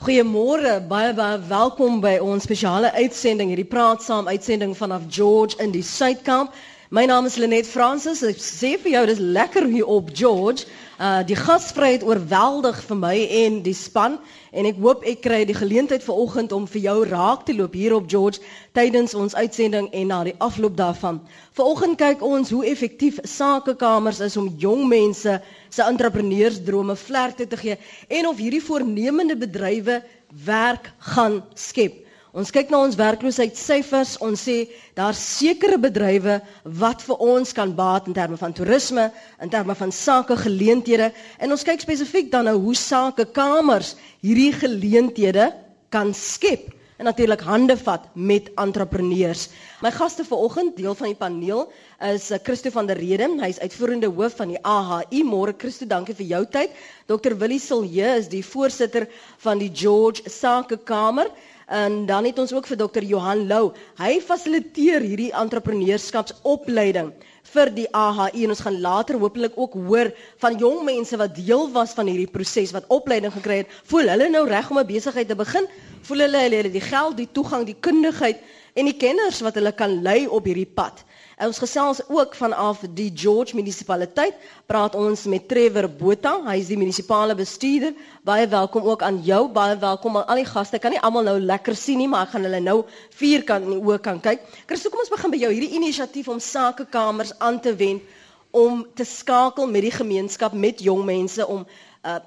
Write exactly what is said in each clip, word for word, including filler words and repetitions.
Goeiemôre, baie baie welkom by ons spesiale uitsending, hierdie praat saam uitsending vanaf George in die Suidkamp. My naam is Lenet Francis. Ek sê vir jou, dis lekker hier op George. Uh, die gasvryheid oorweldig vir my en die span. En ek hoop ek kry die geleentheid vanoggend om vir jou raak te loop hier op George tydens ons uitsending en na die afloop daarvan. Vanoggend kyk ons hoe effektief sakekamers is om jong mense se entrepreneursdrome vlerke te gee en of hierdie voornemende bedrywe werk gaan skep. Ons kyk na ons werkloosheidssyfers, ons sê daar sekere bedrywe wat vir ons kan baat in terme van toerisme, in terme van sakegeleenthede en ons kyk spesifiek dan nou hoe sakekamers hierdie geleenthede kan skep en natuurlik hande vat met entrepreneurs. My gaste vanoggend, deel van die paneel, is Christo van der Rede. Hy is uitvoerende hoof van die A H I. Môre Christo, dankie vir jou tyd. dokter Willie Silje is die voorsitter van die George Sakekamer. En dan het ons ook vir dokter Johan Lou. Hy fasiliteer hierdie entrepreneurskapsopleiding vir die A H I en ons gaan later hopelik ook hoor van jong mense wat deel was van hierdie proses, wat opleiding gekry het. Voel hulle nou reg om 'n besigheid te begin? Voel hulle hulle het die geld, die toegang, die kundigheid en die kenners wat hulle kan lei op hierdie pad? En ons gesels ook vanaf die George munisipaliteit, praat ons met Trevor Botha, hy is die munisipale bestuurder. Baie welkom ook aan jou, baie welkom aan al die gaste. Ek kan nie almal nou lekker sien nie, maar ek gaan hulle nou vierkant in die oë kan kyk. Christo, kom ons begin by jou, hierdie inisiatief om sakekamers aan te wend, om te skakel met die gemeenskap, met jong mense, om uh,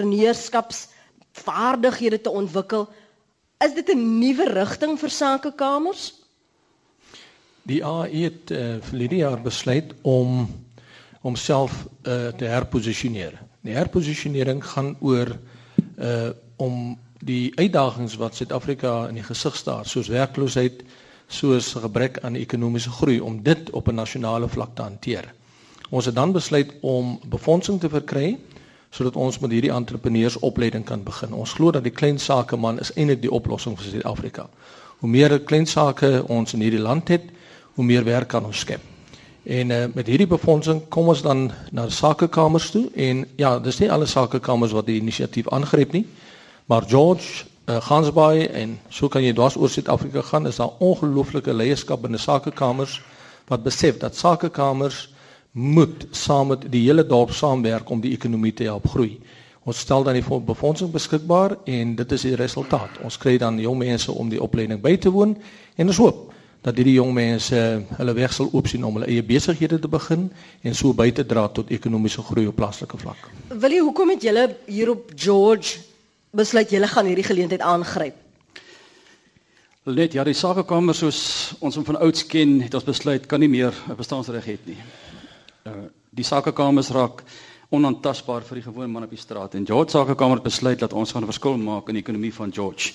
entrepreneurskapsvaardighede te ontwikkel. Is dit 'n nuwe rigting vir sakekamers? Die A H I het uh, verlede jaar besluit om homself uh, te herposisioneer. Die herposisionering gaan oor uh, om die uitdagings wat Suid-Afrika in die gesig staar, soos werkloosheid, soos gebrek aan ekonomiese groei, om dit op 'n nasionale vlak te hanteer. Ons het dan besluit om befondsing te verkry, sodat ons met hierdie entrepreneursopleiding kan begin. Ons glo dat die klein sakeman is eintlik die oplossing vir Suid-Afrika. Hoe meer klein sake ons in hierdie land het, hoe meer werk kan ons skep. En uh, met hierdie befondsing kom ons dan na sakekamers toe en ja, dis nie alle sakekamers wat die inisiatief aangryp nie, maar George, uh, Gansbaai en so kan jy dwars oor Suid-Afrika gaan, is daar ongelooflike leierskap binne sakekamers wat besef dat sakekamers moet saam met die hele dorp saamwerk om die ekonomie te help groei. Ons stel dan die befondsing beskikbaar en dit is die resultaat. Ons kry dan jong mense om die opleiding by te woon en ons hoop dat hierdie jong mense hulle weg sal oopsien om hulle eie besighede te begin en so by te dra tot ekonomiese groei op plaaslike vlak. Willie, hoekom het julle hier op George besluit julle gaan hierdie geleentheid aangryp? Net ja, die sakekamer soos ons hom van ouds ken, het ons besluit kan nie meer 'n bestaansreg hê nie. Uh, die sakekamers raak onaantastbaar vir die gewone man op die straat en George Sakekamer het besluit dat ons gaan 'n verskil maak in die ekonomie van George.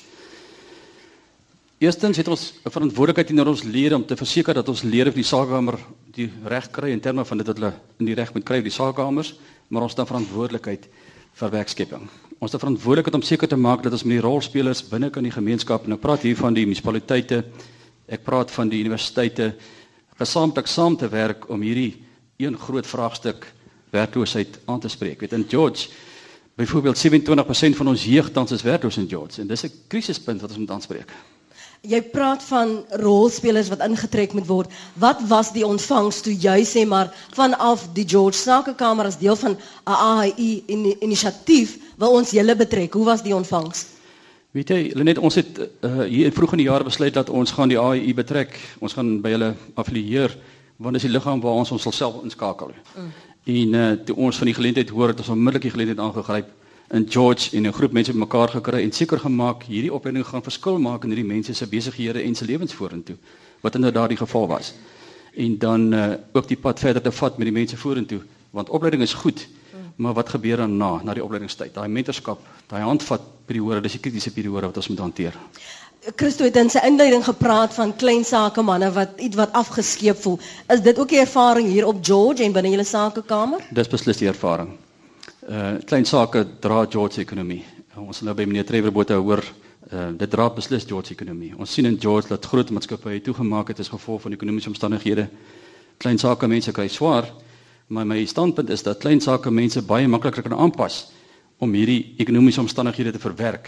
Eerstens het ons 'n verantwoordelikheid teenoor ons lede om te verseker dat ons lede vir die sakekamer die reg kry in terme van dit wat hulle in die reg moet kry vir die sakekamers, maar ons het 'n verantwoordelikheid vir werkskepping. Ons het 'n verantwoordelikheid om seker te maak dat ons met die rolspelers binne kan die gemeenskap, en ek praat hier van die munisipaliteite, ek praat van die universiteite, gesamentlik saam te werk om hierdie een groot vraagstuk werkloosheid aan te spreek. Weet in George, byvoorbeeld sewenentwintig persent van ons jeug tans is werkloos in George en dis 'n krisispunt wat ons moet aanspreek. Jy praat van rolspelers wat ingetrek moet word. Wat was die ontvangs toe jy sê maar vanaf die George Sakekamer as deel van 'n A H I inisiatief wil ons julle betrek? Hoe was die ontvangs? Weet jy, Lenet, ons het uh, hier vroeg in die jaar besluit dat ons gaan die A H I betrek. Ons gaan by hulle affilieer, want dis die liggaam waar ons ons self inskakel. Mm. En uh, toe ons van die geleentheid hoor, het ons onmiddellik die geleentheid aangegryp in George en 'n groep mense bymekaar gekry en seker gemaak hierdie opleiding gaan verskil maak in hierdie mense se besighede en se lewens vorentoe, wat inderdaad die geval was. En dan uh, ook die pad verder te vat met die mense vorentoe, want opleiding is goed, mm. maar wat gebeur dan na, na die opleidingstyd? Daai mentorskap, daai handvat periode, dis die kritiese periode wat ons moet hanteer. Christo het in sy inleiding gepraat van klein sakemanne wat iets wat afgeskeep voel. Is dit ook die ervaring hier op George en binne julle sakekamer? Dis beslis die ervaring. Uh, klein sake dra George se ekonomie. Ons nou by meneer Trevor Botha hoor, uh, dit dra beslis George se ekonomie. Ons sien in George dat groot maatskappye toegemaak het as gevolg van ekonomiese omstandighede. Klein sake mense kry swaar, maar my standpunt is dat klein sake mense baie makliker kan aanpas om hierdie ekonomiese omstandighede te verwerk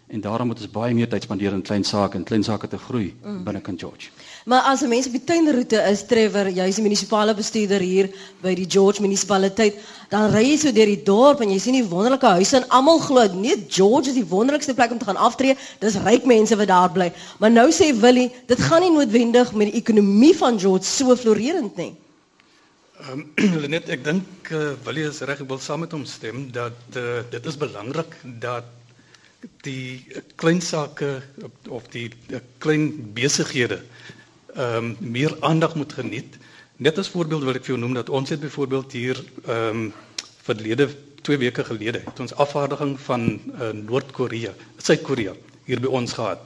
En daarom moet ons baie meer tyd spandeer in klein sake en klein sake te groei mm. binne Kind George. Maar as 'n mens op die tuinroete is, Trevor, jy is die munisipale bestuurder hier by die George munisipaliteit, dan ry jy so deur die dorp en jy sien die wonderlike huise en almal glo, nee, George is die wonderlikste plek om te gaan aftree, dis ryk mense wat daar bly. Maar nou sê Willie, dit gaan nie noodwendig met die ekonomie van George so florerend nie. Um, Lenet, ek dink uh, Willie is reg, ek wil saam met hom stem dat uh, dit is belangrik dat die klein sake of die klein besighede um, meer aandag moet geniet. Net as voorbeeld wil ek vir jou noem dat ons het byvoorbeeld hier um, verlede twee weke gelede het ons afvaardiging van uh, Noord-Korea, Suid-Korea hier by ons gehad.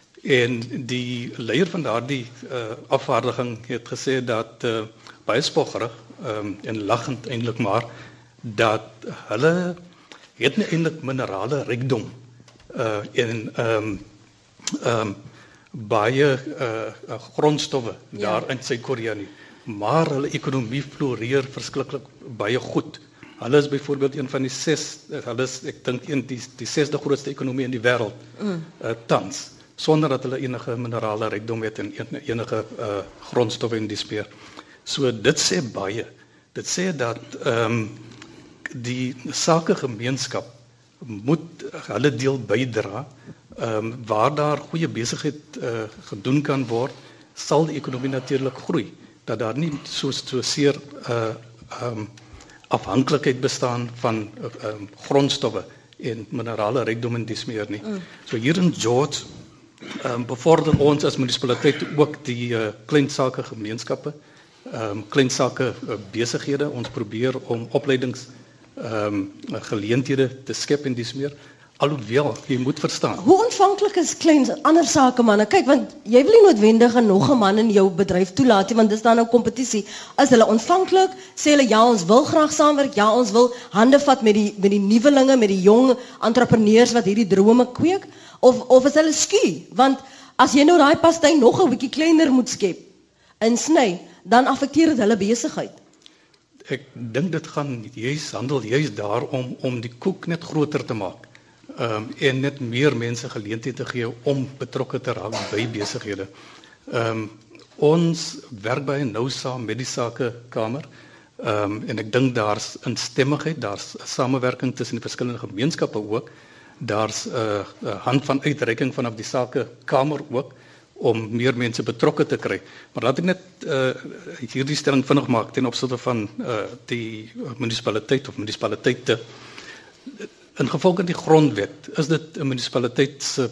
En die leier van daardie uh, afvaardiging het gesê dat uh, baie spoggerig um, en lachend eintlik maar dat hulle het nie eintlik minerale rykdom uh, en um, um, baie uh, grondstowwe ja. daar in Suid-Korea nie, maar hulle ekonomie floreer verskriklik baie goed. Hulle is byvoorbeeld een van die ses, hulle is ek dink een die die sesde grootste ekonomie in die wêreld mm. uh, tans, sonder dat hulle enige minerale rykdom het en enige uh, grondstowwe in die speer. So dit sê baie. Dit sê dat ehm um, die sakegemeenskap moet hulle deel bydra. Ehm um, waar daar goeie besigheid uh, gedoen kan word, sal die ekonomie natuurlik groei. Dat daar nie so so seer uh ehm um, afhanklikheid bestaan van uh, um, grondstowwe en minerale rykdom en dis meer nie. Mm. So hier in George um, bevorder ons as munisipaliteit ook die uh, klein sake gemeenskappe, um, klein sake uh, besighede. Ons probeer om opleidings um, geleenthede te skep en dis meer. Alhoewel, jy moet verstaan. Hoe ontvanklik is klein ander sake manne? Kyk, want jy wil nie noodwendig nog 'n man in jou bedryf toelaat nie, want dis dan nou kompetisie. Is hulle ontvanklik? Sê hulle ja, ons wil graag saamwerk. Ja, ons wil hande vat met die met die nuwelinge, met die jong entrepreneurs wat hierdie drome kweek, of of is hulle skie? Want as jy nou daai pastei nog 'n bietjie kleiner moet skep en sny, dan affekteer dit hulle besigheid. Ek dink dit gaan juis handel juis daarom om die koek net groter te maak. Um, en net meer mense geleentheid te gee om betrokke te raak by besighede. Um, ons werk baie nou saam met die sakekamer um, en ek dink daar's instemmigheid, daar's samewerking tussen die verskillende gemeenskappe ook. Daar's 'n uh, uh, hand van uitreiking vanaf die sakekamer ook om meer mense betrokke te kry. Maar laat ek net uh, hierdie stelling vinnig maak ten opsigte van uh, die munisipaliteit of munisipaliteite. In gevolge die grondwet is dit 'n munisipaliteit se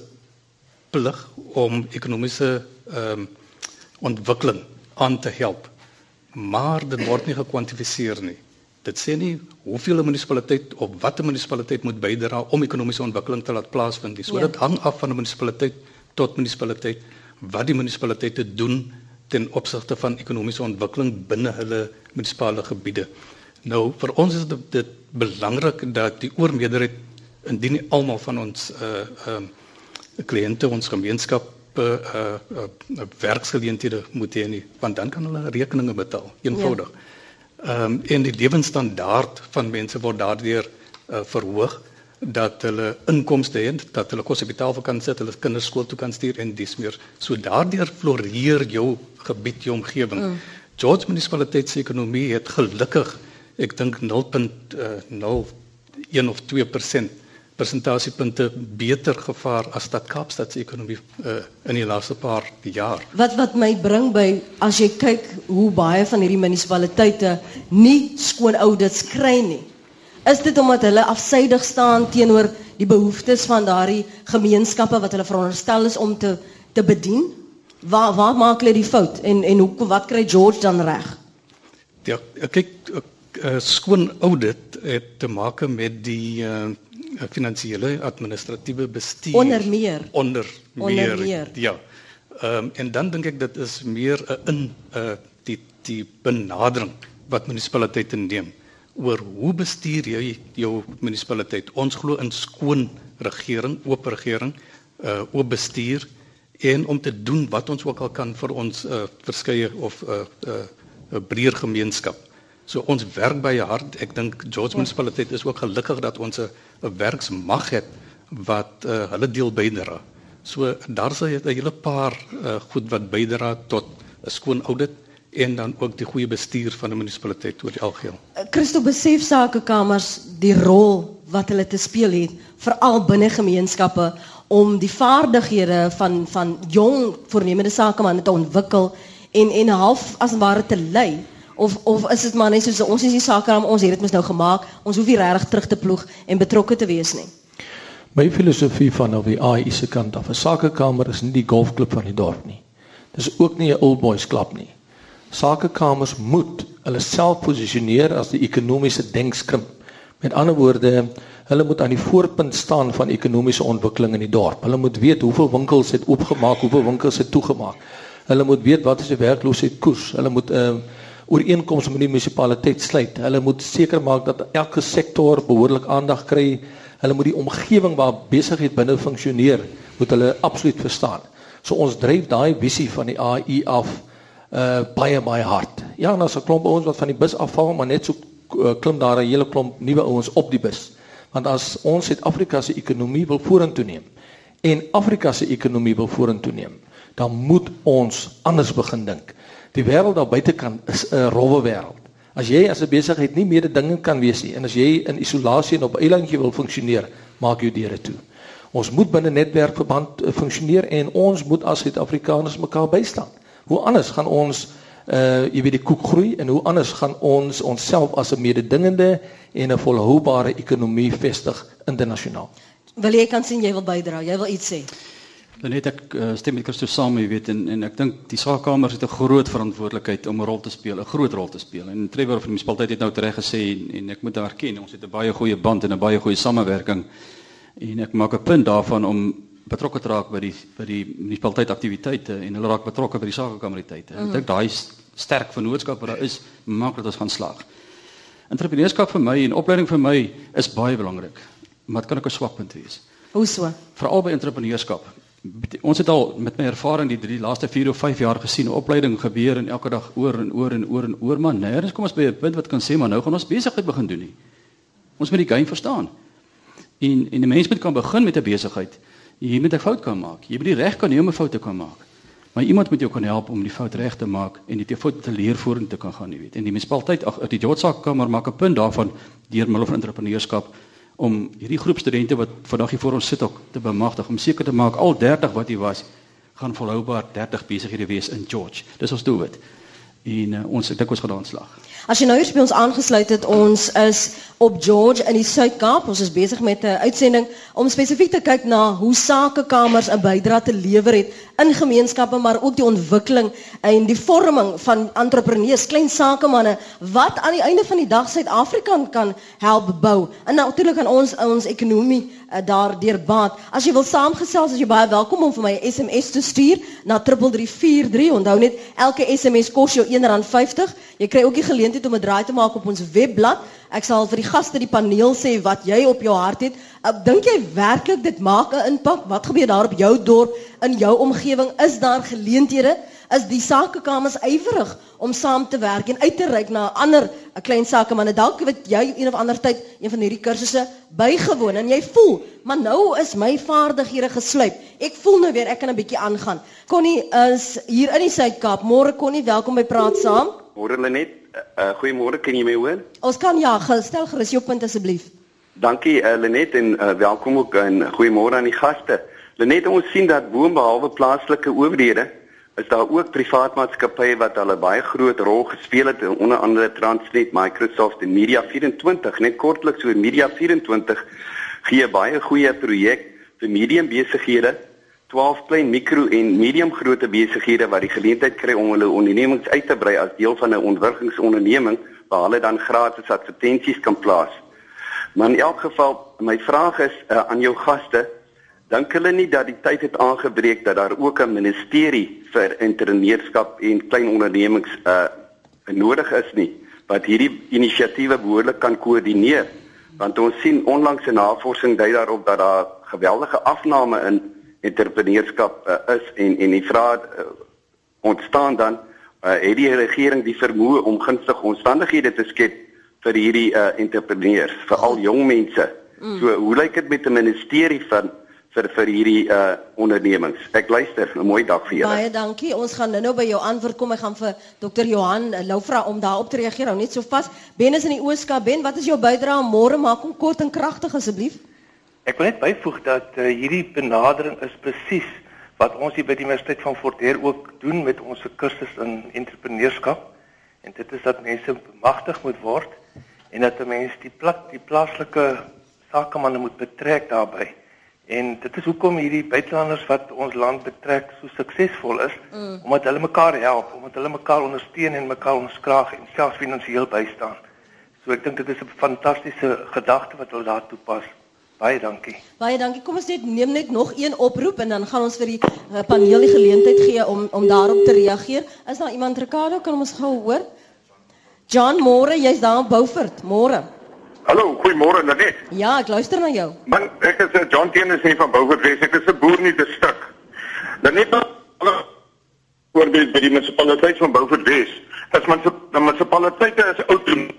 plig om ekonomiese um, ontwikkeling aan te help. Maar dit word nie gekwantifiseer nie. Dit sê nie hoeveel 'n munisipaliteit of wat 'n munisipaliteit moet bydra om ekonomiese ontwikkeling te laat plaasvind nie. So ja. Dit hang af van 'n munisipaliteit tot munisipaliteit wat die munisipaliteite doen ten opsigte van ekonomiese ontwikkeling binne hulle munisipale gebiede. Nou, vir ons is dit, dit belangrik dat die oormeerderheid, indien nie almal van ons uh, uh, kliënte, ons gemeenskap uh, uh, uh, werksgeleenthede moet hê nie, want dan kan hulle rekeninge betaal, eenvoudig. Ja. Um, en die lewensstandaard van mense word daardeur uh, verhoog, dat hulle inkomste het, dat hulle kos op die tafel kan sit, hulle kinders skool toe kan stuur en dis meer. So daardeur floreer jou gebied, jou omgewing. Mm. George munisipaliteit se ekonomie het gelukkig ek dink nul komma nul een of twee persent persentasiepunte beter gevaar as Stad Kaapstad se ekonomie uh, in die laaste paar jaar. Wat wat my bring by as jy kyk hoe baie van hierdie munisipaliteite nie skoon audits kry nie. Is dit omdat hulle afsydig staan teenoor die behoeftes van daardie gemeenskappe wat hulle veronderstel is om te te bedien? Waar waar maak hulle die fout en en hoe wat kry George dan reg? Ja, kyk Uh, skoon audit het te maak met die uh, finansiële administratiewe bestuur. Onder meer. Onder meer. Onder meer. Ja. Um, en dan dink ek dit is meer uh, in uh, die die benadering wat munisipaliteite neem oor hoe bestuur jy jou munisipaliteit. Ons glo in skoon regering, oop regering, uh, oop bestuur en om te doen wat ons ook al kan vir ons uh, verskeie of 'n uh, uh, uh, breër gemeenskap. So ons werk baie hard. Ek dink George munisipaliteit is ook gelukkig dat ons 'n werksmag het wat uh, hulle deel bydra. So daar's 'n hele paar uh, goed wat bydra tot 'n skoon audit en dan ook die goeie bestuur van 'n munisipaliteit oor die algeheel. Christo, besef sakekamers die rol wat hulle te speel het, veral binne gemeenskappe, om die vaardighede van van jong voornemende sakemanne te ontwikkel en en half as ware te lei. Of of is dit maar net soos ons is die sakeraam, ons het dit mos nou gemaak, ons hoef nie regtig terug te ploeg en betrokke te wees nie. My filosofie van op die A I se kant af, 'n sakekamer is nie die golfklub van die dorp nie. Dis ook nie 'n old boys klub nie. Sakekamers moet hulle self posisioneer as die ekonomiese denkskrimp. Met ander woorde, hulle moet aan die voorpunt staan van ekonomiese ontwikkeling in die dorp. Hulle moet weet hoeveel winkels het oopgemaak, hoeveel winkels het toegemaak. Hulle moet weet wat is die werkloosheidkoers. Hulle moet 'n uh, ooreenkoms met die munisipaliteit sluit. Hulle moet seker maak dat elke sektor behoorlik aandag kry. Hulle moet die omgewing waar besigheid binne funksioneer, moet hulle absoluut verstaan. So ons dryf daai visie van die A I af uh, baie baie hard. Ja, en as 'n klomp ouens wat van die bus afval, maar net so uh, klim daar 'n hele klomp nuwe ouens op die bus. Want as ons Suid-Afrika se ekonomie wil vorentoe neem en Afrika se ekonomie wil vorentoe neem, dan moet ons anders begin dink. Die wêreld daar buitekant is 'n rowwe wêreld. As jy as 'n besigheid nie mededingend kan wees nie en as jy in isolasie en op 'n eilandjie wil funksioneer, maak jou deure toe. Ons moet binne netwerkverband funksioneer en ons moet as Suid-Afrikaners mekaar bystaan. Hoe anders gaan ons uh jy weet die koek groei en hoe anders gaan ons onsself as 'n mededingende en 'n volhoubare ekonomie vestig internasionaal. Wil jy kan sien jy wil bydra, jy wil iets sê. Dan net ek uh, stem met Christo saam, jy weet, en en ek dink die saakkamers het 'n groot verantwoordelikheid om 'n rol te speel, 'n groot rol te speel. En Trevor van die munisipaliteit het nou reg gesê en, en ek moet daar erken, ons het 'n baie goeie band en 'n baie goeie samewerking. En ek maak 'n punt daarvan om betrokke te raak by die by die munisipaliteit aktiwiteite en hulle raak betrokke by die sakekameriteite. Mm. Ek dink daai sterk vennootskap wat daar is, maak dat ons gaan slaag. Entrepreneurskap vir my en opleiding vir my is baie belangrik, maar dit kan ook 'n swakpunt wees. Hoe so? Veral by entrepreneurskap. Ons het al met my ervaring die drie laaste vier of vyf jaar gesien, opleiding gebeur en elke dag oor en oor en oor en oor, maar nêrens kom ons by 'n punt wat kan sê maar nou gaan ons besigheid begin doen nie. Ons moet die game verstaan. En en 'n mens moet kan begin met 'n besigheid. Jy moet 'n fout kan maak. Jy moet die reg kan hê om 'n fout te kan maak. Maar iemand moet jou kan help om die fout reg te maak en die fout te leer vorentoe te kan gaan, jy weet. En die munisipaliteit, ag die George Sakekamer maak 'n punt daarvan deur middel van entrepreneurskap om hierdie groep studente wat vandag hier voor ons sit ook te bemagtig, om seker te maak al dertig wat hier was, gaan volhoubaar dertig besighede wees in George. Dis ons doelwit. En uh, ons ek dink ons gaan daar aanslag. As jy nou hier by ons aangesluit het, ons is op George in die Suid-Kaap. Ons is besig met 'n uitsending om spesifiek te kyk na hoe sakekamers 'n bydrae te lewer het in gemeenskappe, maar ook die ontwikkeling en die vorming van entrepreneurs, klein sakemanne wat aan die einde van die dag Suid-Afrika kan help bou. En natuurlik aan ons ons ekonomie uh, daardeur baat. As jy wil saamgesels, is jy baie welkom om vir my 'n S M S te stuur na drie drie drie vier drie. Onthou net, elke S M S kos jou een rand vyftig. Jy kry ook die geleentheid om 'n draai te maak op ons webblad. Ek sal vir die gaste die paneel sê wat jy op jou hart het. Ek dink jy werklik dit maak 'n impak? Wat gebeur daar op jou dorp, in jou omgewing? Is daar geleenthede? Is die sakekamers ywerig om saam te werk en uit te reik na ander klein sakemanne? Dalk weet jy een of ander tyd een van hierdie kursusse bygewoon en jy voel, maar nou is my vaardighede gesluip. Ek voel nou weer ek kan 'n bietjie aangaan. Connie is hier in die Suid-Kaap. Môre Connie, welkom by Praat Saam. Môre Lenet, uh, goeiemôre, kan jy my hoor? Ons kan ja, stel gerus jou punt asseblief. Dankie uh, Lenet en uh, welkom ook en goeiemôre aan die gaste. Lenet, ons sien dat boonbehalwe plaaslike owerhede is daar ook privaat maatskappye wat hulle baie groot rol gespeel het, onder andere Transnet, Microsoft en Media vyf en twintig. Net kortliks oor Media vyf en twintig gee baie goeie projek vir medium besighede, twaalf klein mikro en medium grootte besighede wat die geleentheid kry om hulle ondernemings uit te brei as deel van 'n ontwikkelingsonderneming waar hulle dan gratis advertensies kan plaas. Maar in elk geval, my vraag is uh, aan jou gaste, dink hulle nie dat die tyd het aangebreek dat daar ook 'n ministerie vir entrepreneurskap en klein ondernemings uh, nodig is nie, wat hierdie inisiatiewe behoorlik kan koördineer? Want ons sien onlangs 'n navorsing dui daarop dat daar geweldige afname in entrepreneurskap uh, is en en die vraag uh, ontstaan dan, uh, het die regering die vermoë om gunstige omstandighede te skep vir hierdie uh, entrepreneurs, veral jong mense Mm. So hoe lyk dit met 'n ministerie van vir vir hierdie uh, ondernemings? Ek luister, 'n mooi dag vir julle. Baie dankie. Ons gaan nou-nou by jou antwoord kom. Ek gaan vir dokter Johan Lou vra om daarop te reageer. Hou net so vas. Ben is in die Ooskaap. Ben, wat is jou bydrae môre? Maak hom kort en kragtig asseblief. Ek wil net byvoeg dat uh, hierdie benadering is presies wat ons hier by die Universiteit van Fort Hare ook doen met ons kursus in entrepreneurskap. En dit is dat mense bemagtig moet word en dat 'n mens die plak die plaaslike sakemanne moet betrek daarbey. En dit is hoekom hierdie buitelanders wat ons land betrek so suksesvol is, mm. omdat hulle mekaar help, omdat hulle mekaar ondersteun en mekaar onderskraag en selfs finansiëel bystaan. So ek dink dit is 'n fantastiese gedagte wat hulle daar toepas. Baie dankie. Baie dankie. Kom ons net neem net nog een oproep en dan gaan ons vir die uh, paneel die geleentheid gee om om daarop te reageer. Is daar iemand, Ricardo, kan ons gou hoor? John, môre, jy's daar in Beaufort. Môre. Hallo, goeiemôre Lenet. Ja, ek luister na jou. Man, ek is uh, John Teeners hier van Beaufort Wes. Ek is 'n boer in die distrik. Lenet, hallo. Voorbeeld by die munisipaliteit van Beaufort Wes. As man se munisipaliteite is autonoom.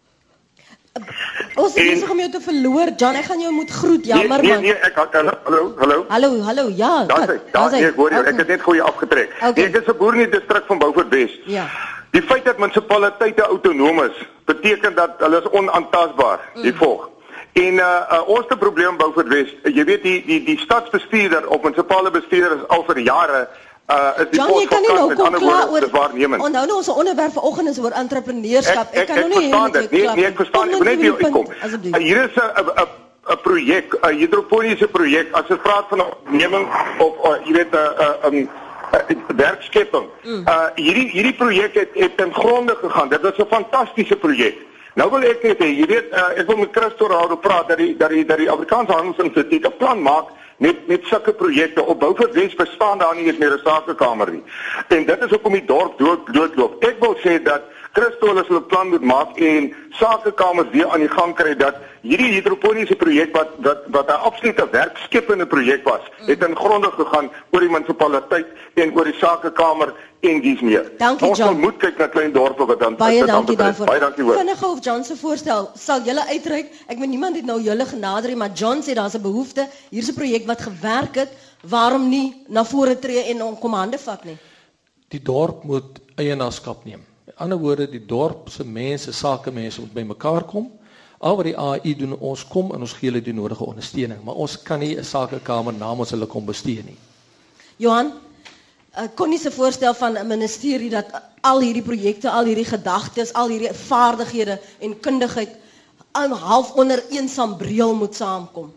Ons is besig om jou te verloor, John. Ek gaan jou moet groet. Jammer nee, man. Nee, nee, ek hallo, hallo, hallo. Hallo, hallo. Ja, daar is. Daar is. Ek hoor jou. Ek het net goeie afgetrek. Okay. Nee, ek is 'n boer in die distrik van Beaufort Wes. Ja. Die feit dat munisipaliteite autonoom is, beteken dat hulle is onaantastbaar, mm. die volg. En uh, uh ons te probleem bou vir Wes, jy weet die die die stadsbestuurder of munisipale bestuurder is al vir jare uh is die John, jy kan nie nou kom klaar oor waarnemend. Onthou nou ons onderwerp vanoggend is oor entrepreneurskap. Ek, ek, ek kan ek nou nie verstaan dit. Nee, nee, ek verstaan. Ek wil net hier uitkom. Uh, hier is 'n 'n 'n projek, 'n hidroponiese projek. As jy praat van 'n onderneming of uh, jy weet 'n uh, 'n uh, um, Uh, werkskepping. Mm. Uh hierdie hierdie projek het, het ten gronde gegaan. Dit was 'n fantastiese projek. Nou wil ek net hê, jy weet, uh, ek wil met Christo daaroor praat dat die dat die dat die Afrikaanse Handelsinstituut 'n plan maak met met sulke projekte. Op Beaufort Wes bestaan daar nie eens meer 'n sakekamer nie. En dit is hoekom die dorp dood doodloop. Ek wil sê dat Christo hulle 'n plan moet maak en sakekamers weer aan die gang kry dat hierdie hidroponiese projek wat wat wat 'n absolute werkskeppende projek was, het in gronde gegaan oor die munisipaliteit en oor die sakekamer en dies meer. Dankie, ons John. moet kyk na klein dorpe wat dan Baie dankie daarvoor. Baie dankie hoor. Vinnig of John se voorstel sal julle uitreik. Ek weet niemand het nou julle genader nie, maar John sê daar's 'n behoefte. Hier's 'n projek wat gewerk het. Waarom nie na vore tree en om kom hande vat nie? Die dorp moet eienaarskap neem. In ander woorde, die dorp se mense, sakemense moet bymekaar kom. Al wat die A I doen, ons kom en ons gee hulle die nodige ondersteuning, maar ons kan nie 'n sakekamer namens hulle kom bestuur nie. Johan, uh, kon nie se voorstel van 'n ministerie dat al hierdie projekte, al hierdie gedagtes, al hierdie vaardighede en kundigheid aan half onder een sambreel moet saamkom.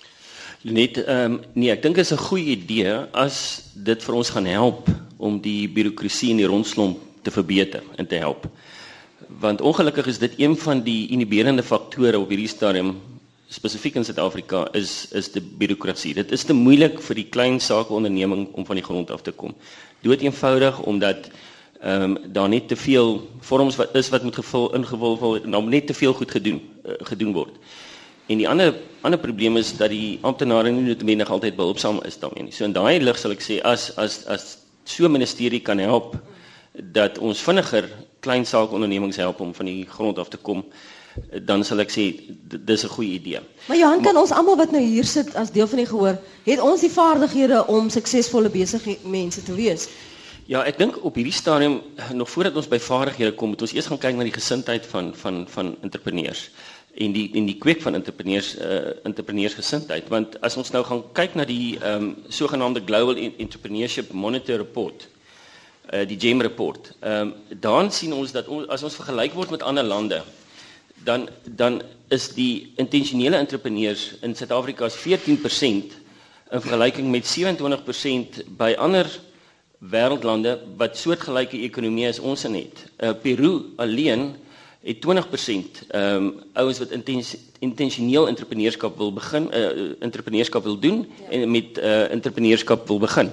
Net ehm um, nee, ek dink dit is 'n goeie idee as dit vir ons gaan help om die birokrasie en die rondslomp te verbeter en te help. Want ongelukkig is dit een van die inhiberende faktore op hierdie stadium spesifiek in Suid-Afrika is is die birokrasie. Dit is te moeilik vir die klein sakeonderneming om van die grond af te kom. Dood eenvoudig omdat ehm um, daar net te veel vorms wat is wat moet gevul ingevul word en dan net te veel goed gedoen uh, gedoen word. En die ander ander probleem is dat die amptenare nie noodwendig altyd behulpsaam is daarmee nie. So in daai lig sal ek sê as as as so 'n ministerie kan help dat ons vinniger klein saakondernemings help om van die grond af te kom, dan sal ek sê dis 'n goeie idee. Maar Johan, kan ons almal wat nou hier sit as deel van die gehoor, het ons die vaardighede om suksesvolle besige mense te wees? Ja, ek dink op hierdie stadium nog voordat ons by vaardighede kom, moet ons eers gaan kyk na die gesindheid van van van entrepreneurs en die en die kweek van entrepreneurs uh, entrepreneursgesindheid, want as ons nou gaan kyk na die ehm um, sogenaamde Global Entrepreneurship Monitor Report, uh, die GEM report, ehm um, dan sien ons dat ons, as ons vergelyk word met ander lande, dan dan is die intentionele entrepreneurs in Suid-Afrika veertien persent in vergelyking met sewe-en-twintig persent by ander wêreldlande wat soortgelyke ekonomie as ons het. Uh, Peru alleen het twintig persent ehm um, ouens wat intens, intentioneel entrepreneurskap wil begin, uh, entrepreneurskap wil doen ja. en met uh, entrepreneurskap wil begin.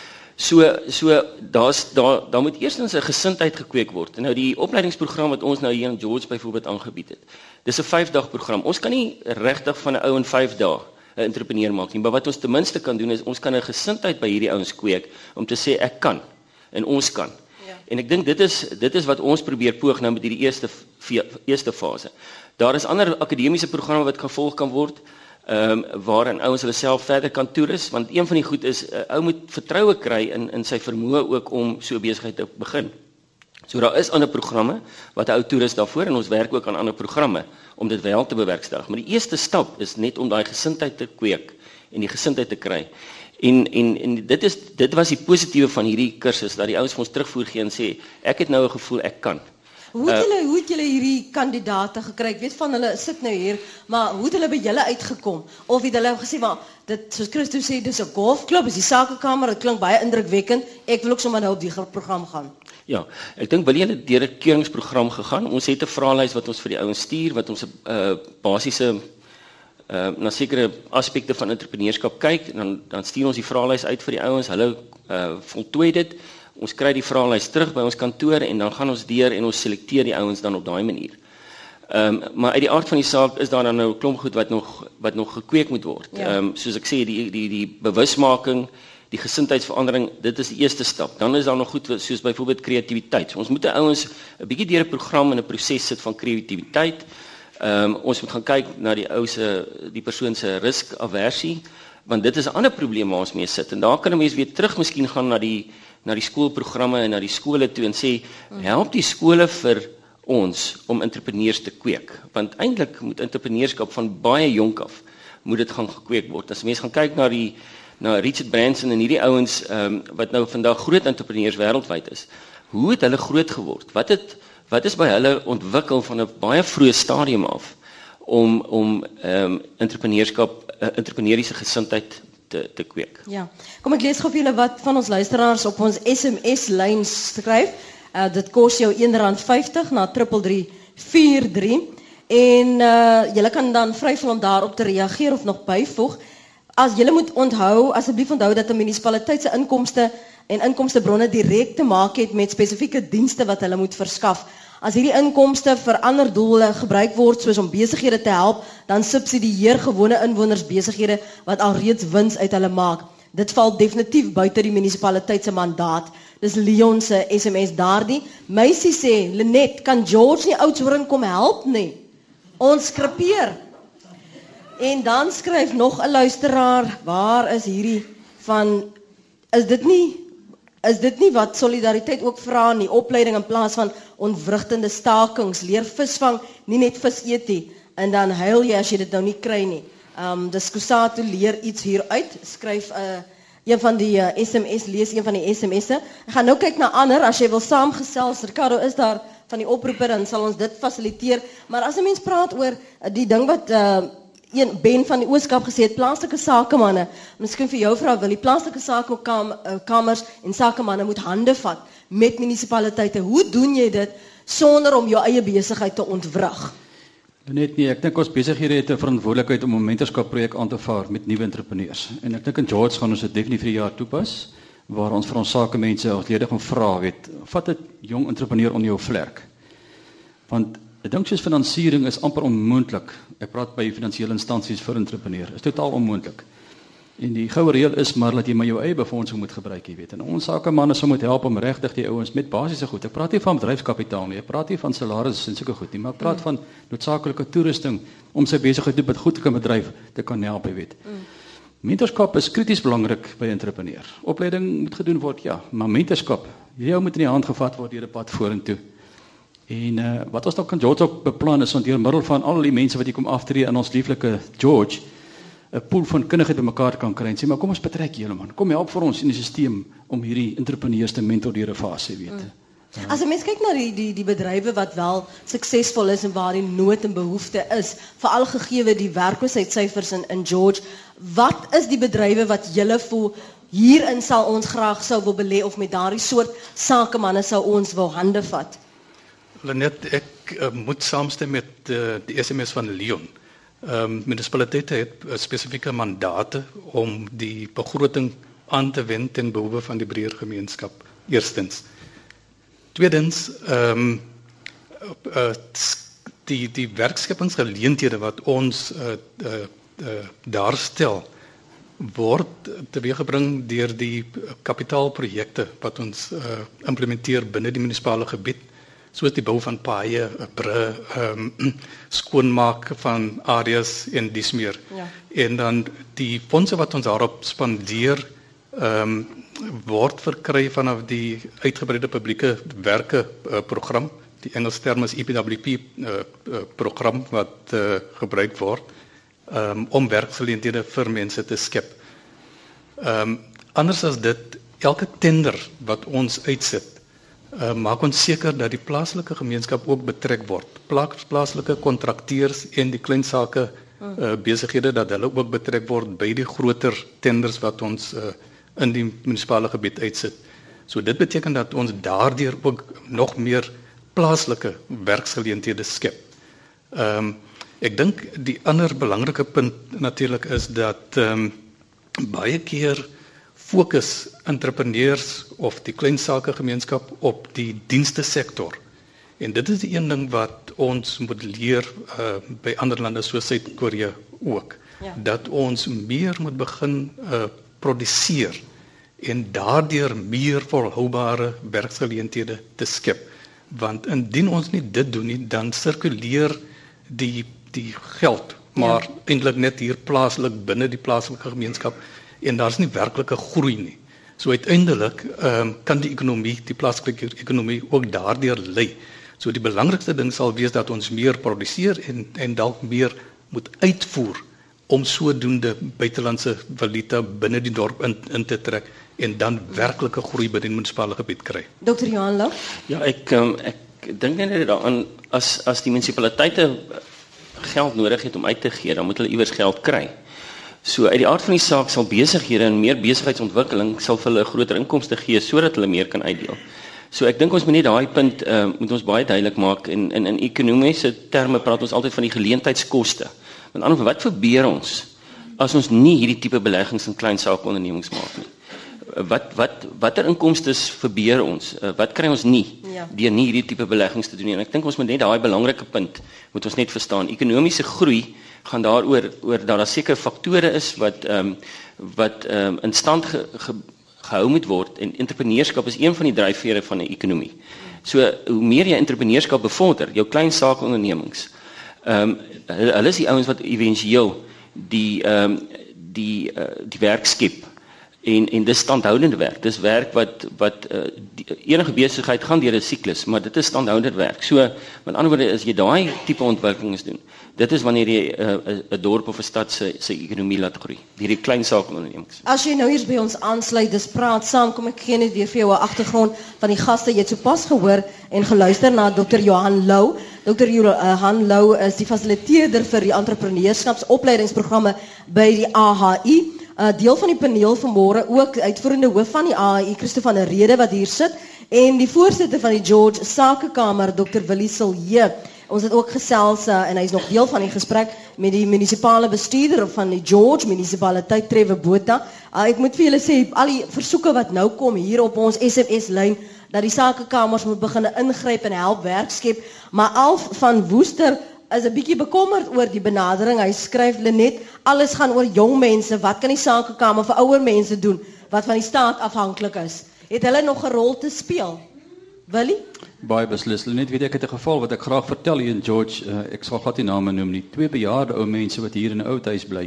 So so daar's daar daar moet eerstens 'n gesindheid gekweek word. Nou die opleidingsprogram wat ons nou hier in George byvoorbeeld aangebied het. Dis 'n vyf dag program. Ons kan nie regtig van 'n ou in vyf dae 'n entrepreneur maak nie, maar wat ons ten minste kan doen is ons kan 'n gesindheid by hierdie ouens kweek om te sê ek kan en ons kan. Ja. En ek dink dit is dit is wat ons probeer poog nou met hierdie eerste eerste fase. Daar is ander akademiese programme wat gevolg kan word. ehm um, waarin ouens hulle self verder kan toerus, want een van die goed is 'n uh, ou moet vertroue kry in in sy vermoë ook om so 'n besigheid te begin. So daar is ander programme wat 'n ou toerus daarvoor en ons werk ook aan ander programme om dit wel te bewerkstellig. Maar die eerste stap is net om daai gesindheid te kweek en die gesindheid te kry. En en en dit is dit was die positiewe van hierdie kursus dat die ouens vir ons terugvoer gee en sê ek het nou 'n gevoel ek kan. Hoe het julle hoe het julle hierdie kandidate gekry? Ek weet van hulle sit nou hier, maar hoe het hulle by julle uitgekom? Of het hulle gesê maar dit soos Christo sê dis 'n golfklub, is die sakekamer, dit klink baie indrukwekkend. Ek wil ook sommer nou op die program gaan. Ja, ek dink wil jy het deur 'n keuringsprogram gegaan. Ons het 'n vraelys wat ons vir die ouens stuur wat ons 'n uh, basiese uh, na sekere aspekte van entrepreneurskap kyk en dan dan stuur ons die vraelys uit vir die ouens. Hulle uh, voltooi dit. Ons kry die vraelys terug by ons kantoor en dan gaan ons deur en ons selekteer die ouens dan op daai manier. Ehm um, maar uit die aard van die saak is daar dan nou 'n klomp goed wat nog wat nog gekweek moet word. Ehm ja. um, soos ek sê die die die bewusmaking, die gesindheidsverandering, dit is die eerste stap. Dan is daar nog goed soos byvoorbeeld kreatiwiteit. So ons moet die ouens 'n bietjie deur 'n program en 'n proses sit van kreatiwiteit. Ehm um, ons moet gaan kyk na die ou se die persoon se riskaversie, want dit is 'n ander probleem waar ons mee sit. En daar kan 'n mens weer terug miskien gaan na die na die skoolprogramme en na die skole toe en sê help die skole vir ons om entrepreneurs te kweek, want eintlik moet entrepreneurskap van baie jonk af moet dit gaan gekweek word. As mense gaan kyk na die na Richard Branson en hierdie ouens um, wat nou vandag groot entrepreneurs wêreldwyd is, hoe het hulle groot geword? Wat het wat is by hulle ontwikkel van 'n baie vroeë stadium af om om um, entrepreneurskap uh, entrepreneuriese gesindheid te te kweek. Ja. Kom ek lees gou vir julle wat van ons luisteraars op ons S M S lyn skryf. Uh, dit kos jou een rand vyftig na drie drie drie vier drie en uh, julle kan dan vry voel om daarop te reageer of nog byvoeg. As julle moet onthou, asseblief onthou dat 'n munisipaliteit se inkomste en inkomstebronne direk te maak het met spesifieke dienste wat hulle moet verskaf. As hierdie inkomste vir ander doele gebruik word soos om besighede te help, dan subsidieer gewone inwoners besighede wat alreeds wins uit hulle maak. Dit val definitief buite die munisipaliteit se mandaat. Dis Leon se S M S daardie. Meisie sê, Lenet, kan George nie Oudtshoorn kom help nie? Ons skrepeer. En dan skryf nog 'n luisteraar, waar is hierdie van, is dit nie Is dit nie wat solidariteit ook vra nie, opleiding in plaas van ontwrigtende stakings, leer visvang, nie net vis eet nie, en dan huil jy as jy dit nou nie kry nie. Um, dis Kusatu leer iets hieruit, skryf uh, een van die uh, S M S, lees een van die S M S'e. Ek gaan nou kyk na ander, as jy wil saamgesels, Ricardo is daar van die oproeper, dan sal ons dit fasiliteer, maar as 'n mens praat oor uh, die ding wat... Uh, Een Ben van die Ooskaap gesê het, plaaslike sakemanne, miskien vir jou vrou wil, die plaaslike sakekamers en sakemanne moet hande vat met munisipaliteite. Hoe doen jy dit sonder om jou eie besigheid te ontwrig? Net nie, ek dink ons besighede het 'n verantwoordelikheid om 'n mentorskapprojek aan te vaar met nuwe entrepreneurs. En ek dink in George gaan ons dit definitief vir 'n jaar toepas, waar ons vir ons sakemense as lede gaan vra, weet, vat 'n jong entrepreneur onder jou vlerk. Want ek dink soos finansiering is amper onmoontlik. Ek praat by finansiële instansies vir entrepreneur. Is totaal onmoontlik. En die goue reël is maar dat jy maar jou eie befondsing moet gebruik, jy weet. En ons sakemanne sou moet help om regtig die ouens met basiese goed. Ek praat nie van bedryfskapitaal nie. Ek praat nie van salarisse en sulke goed nie, maar ek praat van noodsaaklike toerusting om sy besigheid met goed te kan bedryf te kan help, jy weet. Mm. Mentorskap is krities belangrik by entrepreneur. Opleiding moet gedoen word, ja, maar mentorskap, jy moet in die hand gevat word deur 'n pad vorentoe. En uh, wat ons nou kan George ook beplan is om deur middel van al die mense wat hier kom aftree in ons lieflike George 'n pool van kundigheid bymekaar kan kry en sê maar kom ons betrek julle man. Kom help vir ons in die stelsel om hierdie entrepreneurs te mentor deur 'n fase, weet. Mm. Uh, As 'n mens kyk na die die die bedrywe wat wel suksesvol is en waar die nood en behoefte is, veral gegee die werkloosheidsyfers in in George, wat is die bedrywe wat julle voel hierin sal ons graag sou wil belê of met daardie soort sakemanne sou ons wil hande vat? Lenet, ek uh, moet saamstem met uh, die S M S van Leon. Um, munisipaliteite het uh, spesifieke mandate om die begroting aan te wend ten behoeve van die breër gemeenskap. Eerstens. Tweedens, um, uh, die die werkskepingsgeleenthede wat ons uh, uh, uh, daarstel word teweeggebring deur die kapitaalprojekte wat ons uh, implementeer binne die munisipale gebied. soos die bou van paaie, bru, um, skoonmaak van areas en dis meer. Ja. En dan die fondse wat ons daarop spandeer, um, word verkry vanaf die uitgebreide publieke werke uh, program. Die Engelse term is E P W P uh, uh, program wat uh, gebruik word um, om werksgeleenthede vir mense te skep. Um, anders as dit, elke tender wat ons uitsit, uh, maak ons seker dat die plaaslike gemeenskap ook betrek word. Plaas, plaaslike kontrakteurs en die klein sake uh, besighede, dat hulle ook betrek word by die groter tenders wat ons uh, in die munisipale gebied uitsit. So dit beteken dat ons daardeur ook nog meer plaaslike werksgeleenthede skep. Um, ek dink die ander belangrike punt natuurlik is dat um, baie keer fokus entrepreneurs of die klein sake gemeenskap op die dienste sektor. En dit is die een ding wat ons moet leer uh, by ander lande soos Suid-Korea ook. Ja. Dat ons meer moet begin uh, produseer en daardeur meer volhoubare werksgeleenthede te skep. Want indien ons nie dit doen nie, dan sirkuleer die die geld, maar ja. eintlik net hier plaaslik binne die plaaslike gemeenskap en daar's nie werklike groei nie. So uiteindelik um, kan die ekonomie, die plaaslike ekonomie ook daardeur lei. So die belangrikste ding sal wees dat ons meer produseer en en dalk meer moet uitvoer om sodoende buitelandse valuta binne die dorp in, in te trek en dan werklike groei binne die munisipale gebied kry. Dokter Johan Lou? Ja, ek um, ek dink net daaraan as as die munisipaliteite geld nodig het om uit te gee, dan moet hulle iewers geld kry. So uit die aard van die saak sal besighede en meer besigheidsontwikkeling sal vir hulle groter inkomste gee sodat hulle meer kan uitdeel. So ek dink ons moet net daai punt uh, moet ons baie duidelik maak en in in ekonomiese terme praat ons altyd van die geleentheidskoste. Met ander woorde, wat verbeur ons as ons nie hierdie tipe beleggings in klein saakondernemings maak nie? Wat wat watter inkomstes verbeur ons? Uh, wat kry ons nie ja. deur nie hierdie tipe beleggings te doen nie? En ek dink ons moet net daai belangrike punt moet ons net verstaan. Ekonomiese groei gaan daaroor oor dat daar sekere faktore is wat ehm um, wat ehm um, in stand ge, ge, gehou moet word en entrepreneurskap is een van die dryfvere van 'n ekonomie. So hoe meer jy entrepreneurskap bevorder, jou klein saakondernemings. Ehm um, hulle is die ouens wat éventueel die ehm um, die uh, die werk skep. En en dis standhoudende werk. Dis werk wat wat uh, die, enige besigheid gaan deur 'n siklus, maar dit is standhoudende werk. So met ander woorde as jy daai tipe ontwikkelings doen, dit is wanneer jy 'n uh, 'n dorp of 'n stad se se ekonomie laat groei. Hierdie klein saakondernemings. As jy nou hier by ons aansluit, dis praat saam, kom ek gee net weer vir jou 'n agtergrond van die gaste. Jy het sopas gehoor en geluister na dokter Johan Lou. dokter Johan Lou is die fasiliteerder vir die entrepreneurskapsopleidingsprogramme by die A H I. Uh, deel van die paneel vanmôre ook uitvoerende hoof van die A H I, Christo van der Rede wat hier sit en die voorsitter van die George Sakekamer, dokter Willie Silje. Ons het ook gesels uh, en hy is nog deel van die gesprek met die munisipale bestuurder van die George munisipaliteit Trevor Botha. Uh, ek moet vir julle sê al die versoeke wat nou kom hier op ons S M S lyn dat die sakekamers moet begin ingryp en help werk skep, maar Alf van Woester is 'n bietjie bekommerd oor die benadering. Hy skryf Lenet, alles gaan oor jong mense. Wat kan die sakekamer vir ouer mense doen wat van die staat afhanklik is? Het hulle nog 'n rol te speel? Willie? Baie beslis. Lenet, weet ek het 'n geval wat ek graag vertel hier in George. Uh, ek sal glad nie name noem nie. Twee bejaarde ou mense wat hier in 'n ou huis bly.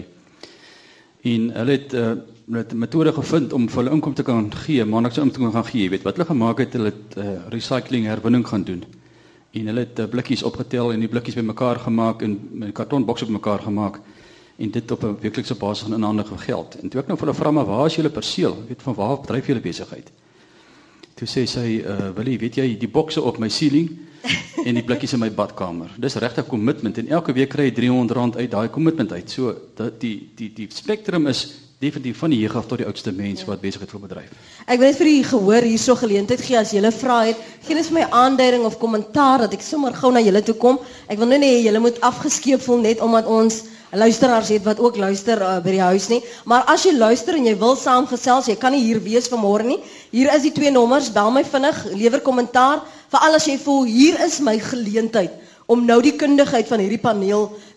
En hulle het 'n uh, metode gevind om vir hulle inkomste te kan gee, maar niks om te kan gee. Jy weet wat hulle gemaak het, hulle het uh, recycling herwinning gaan doen. En hulle het uh, blikkies opgetel en die blikkies bymekaar gemaak en met kartonbokse bymekaar gemaak en dit op 'n weeklikse basis gaan inhandige geld. En toe ek nou vir hulle vra maar waar is julle perseel? Weet van waar bedryf julle besigheid? Toe sê sy, uh, Willie, weet jy, die bokse op my ceiling en die blikkies in my badkamer. Dis regtig commitment en elke week kry jy driehonderd rand uit daai commitment uit. So dat die die die spektrum is definitief van die jeug af tot die oudste mens ja. wat besigheid wil bedryf. Ek wil net vir u gehoor hierso geleentheid gee as julle vra het. Geen is vir my aandering of kommentaar dat ek sommer gou na julle toe kom. Ek wil nou nie julle moet afgeskeep voel net omdat ons luisteraars het wat ook luister uh, by die huis nie. Maar as jy luister en jy wil saamgesels, jy kan nie hier wees vanmôre nie. Hier is die twee nommers, bel my vinnig, lewer kommentaar. Veral as jy voel hier is my geleentheid om nou die kundigheid van hierdie paneel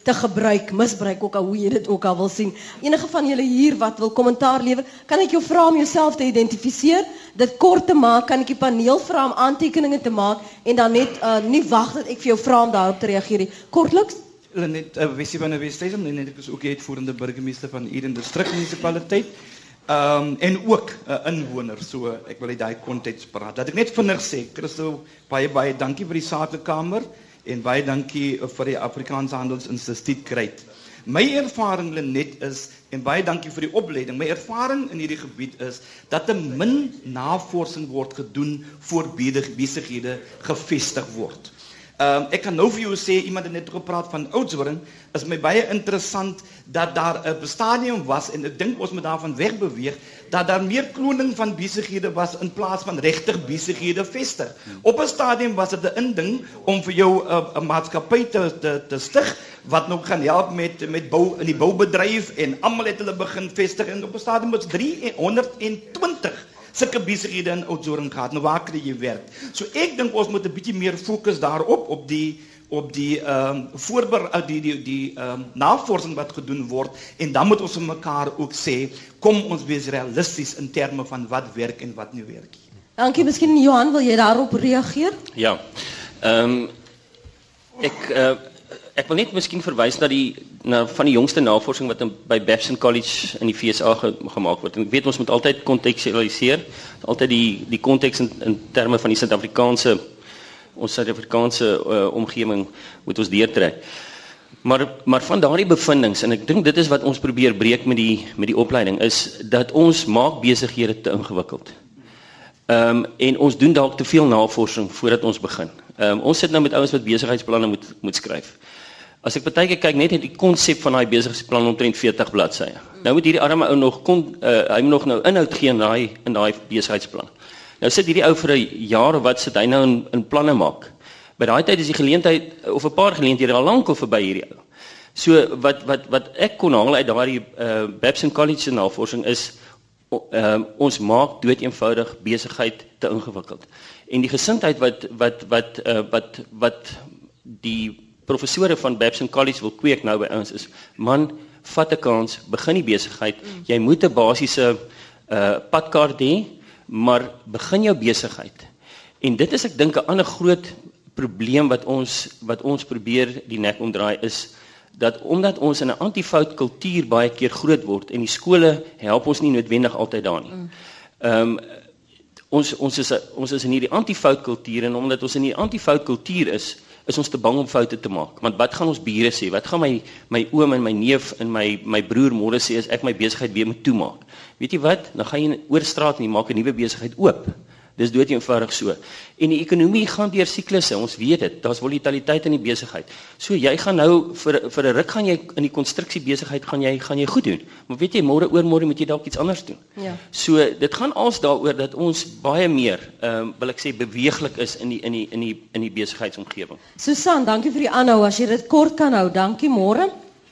te gebruik, misbruik ook al hoe jy dit ook al wil sien. Enige van julle hier wat wil kommentaar lewer, kan ek jou vra om jouself te identifiseer, dit kort te maak, kan ek die paneel vra om aantekeninge te maak en dan net uh, nie wag dat ek vir jou vra om daarop te reageer nie. Kortliks? Lenet uh, Wessie van die Westhuizen, Lenet is ook uitvoerende burgemeester van Eden District Municipaliteit. Um, en ook 'n uh, inwoner, so ek wil uit daai konteks praat. Dat ek net vinnig sê, Christo, baie baie dankie vir die Sakekamer en baie dankie vir die Afrikaanse Handelsinstituut Kruit. My ervaring Lenet is en baie dankie vir die opleiding. My ervaring in hierdie gebied is dat 'n min navorsing word gedoen voor besighede gevestig word. Um, ek kan nou vir jou sê, iemand het net gepraat van Oudtshoorn, is my baie interessant dat daar 'n stadium was, en ek dink ons moet daarvan wegbeweeg, dat daar meer kloning van besighede was in plaas van regtig besighede vestig. Op 'n stadium was dit 'n inding om vir jou 'n uh, maatskappy te, te, te stig, wat nog gaan help met, met bou, in die boubedryf, en almal het hulle begin vestig, en op 'n stadium was driehonderdtwintig sulke besighede in Oudtshoorn gehad. Nou waar kry jy werk? So ek dink ons moet 'n bietjie meer fokus daarop, op die op die ehm um, voorber die die die ehm um, navorsing wat gedoen word, en dan moet ons vir mekaar ook sê, kom ons wees realisties in terme van wat werk en wat nie werk nie. Dankie, miskien Johan, wil jy daarop reageer? Ja. Ehm um, ek uh, ek wil net miskien verwys na die na van die jongste navorsing wat in, by Babson College in die V S A ge, gemaak word. En ek weet ons moet altyd kontekstualiseer, altyd die die konteks in, in terme van die Suid-Afrikaanse ons Suid-Afrikaanse uh, omgewing moet ons deurtrek. Maar maar van daardie bevindinge, en ek dink dit is wat ons probeer breek met die met die opleiding, is dat ons maak besighede te ingewikkeld. Ehm um, en ons doen dalk te veel navorsing voordat ons begin. Ehm um, ons sit nou met ouens wat besigheidsplanne moet moet skryf. As ek baie keer kyk net in die konsep van daai besigheidsplan omtrent veertig bladsye. Nou moet hierdie arme ou nog kon uh, hy moet nog nou inhoud gee in daai in daai besigheidsplan. Nou sit hierdie ou vir 'n jaar of wat sit hy nou in, in planne maak. By daai tyd is die geleentheid of 'n paar geleenthede al lank al verby hierdie ou. So wat wat wat ek kon haal uit daardie uh, Babson College se navorsing is uh, ons maak dood eenvoudig besigheid te ingewikkeld. En die gesindheid wat wat wat uh, wat wat die professore van Babson College wil kweek nou by ons is, man, vat 'n kans, begin die besigheid. Mm. Jy moet 'n basiese uh, padkaart hê, maar begin jou besigheid. En dit is ek dink 'n ander groot probleem wat ons wat ons probeer die nek omdraai is dat omdat ons in 'n antifout kultuur baie keer groot word en die skole help ons nie noodwendig altyd daar nie. Ehm um, ons ons is ons is in hierdie antifout kultuur, en omdat ons in hierdie antifout kultuur is, is ons te bang om foute te maak. Want wat gaan ons bure sê? Wat gaan my my oom en my neef en my my broer môre sê as ek my besigheid weer moet toemaak? Weet jy wat? Dan gaan jy oor straat en jy maak 'n nuwe besigheid oop. Dis dood eenvoudig so. En die ekonomie gaan deur siklusse, ons weet dit. Daar's volatiliteit in die besigheid. So jy gaan nou vir vir 'n ruk gaan jy in die konstruksiebesigheid gaan jy gaan jy goed doen. Maar weet jy, môre oor môre moet jy dalk iets anders doen. Ja. So dit gaan als daaroor dat ons baie meer, ehm um, wil ek sê, beweeglik is in die in die in die in die besigheidsomgewing. Susan, dankie vir die aanhou. As jy dit kort kan hou, dankie. Môre.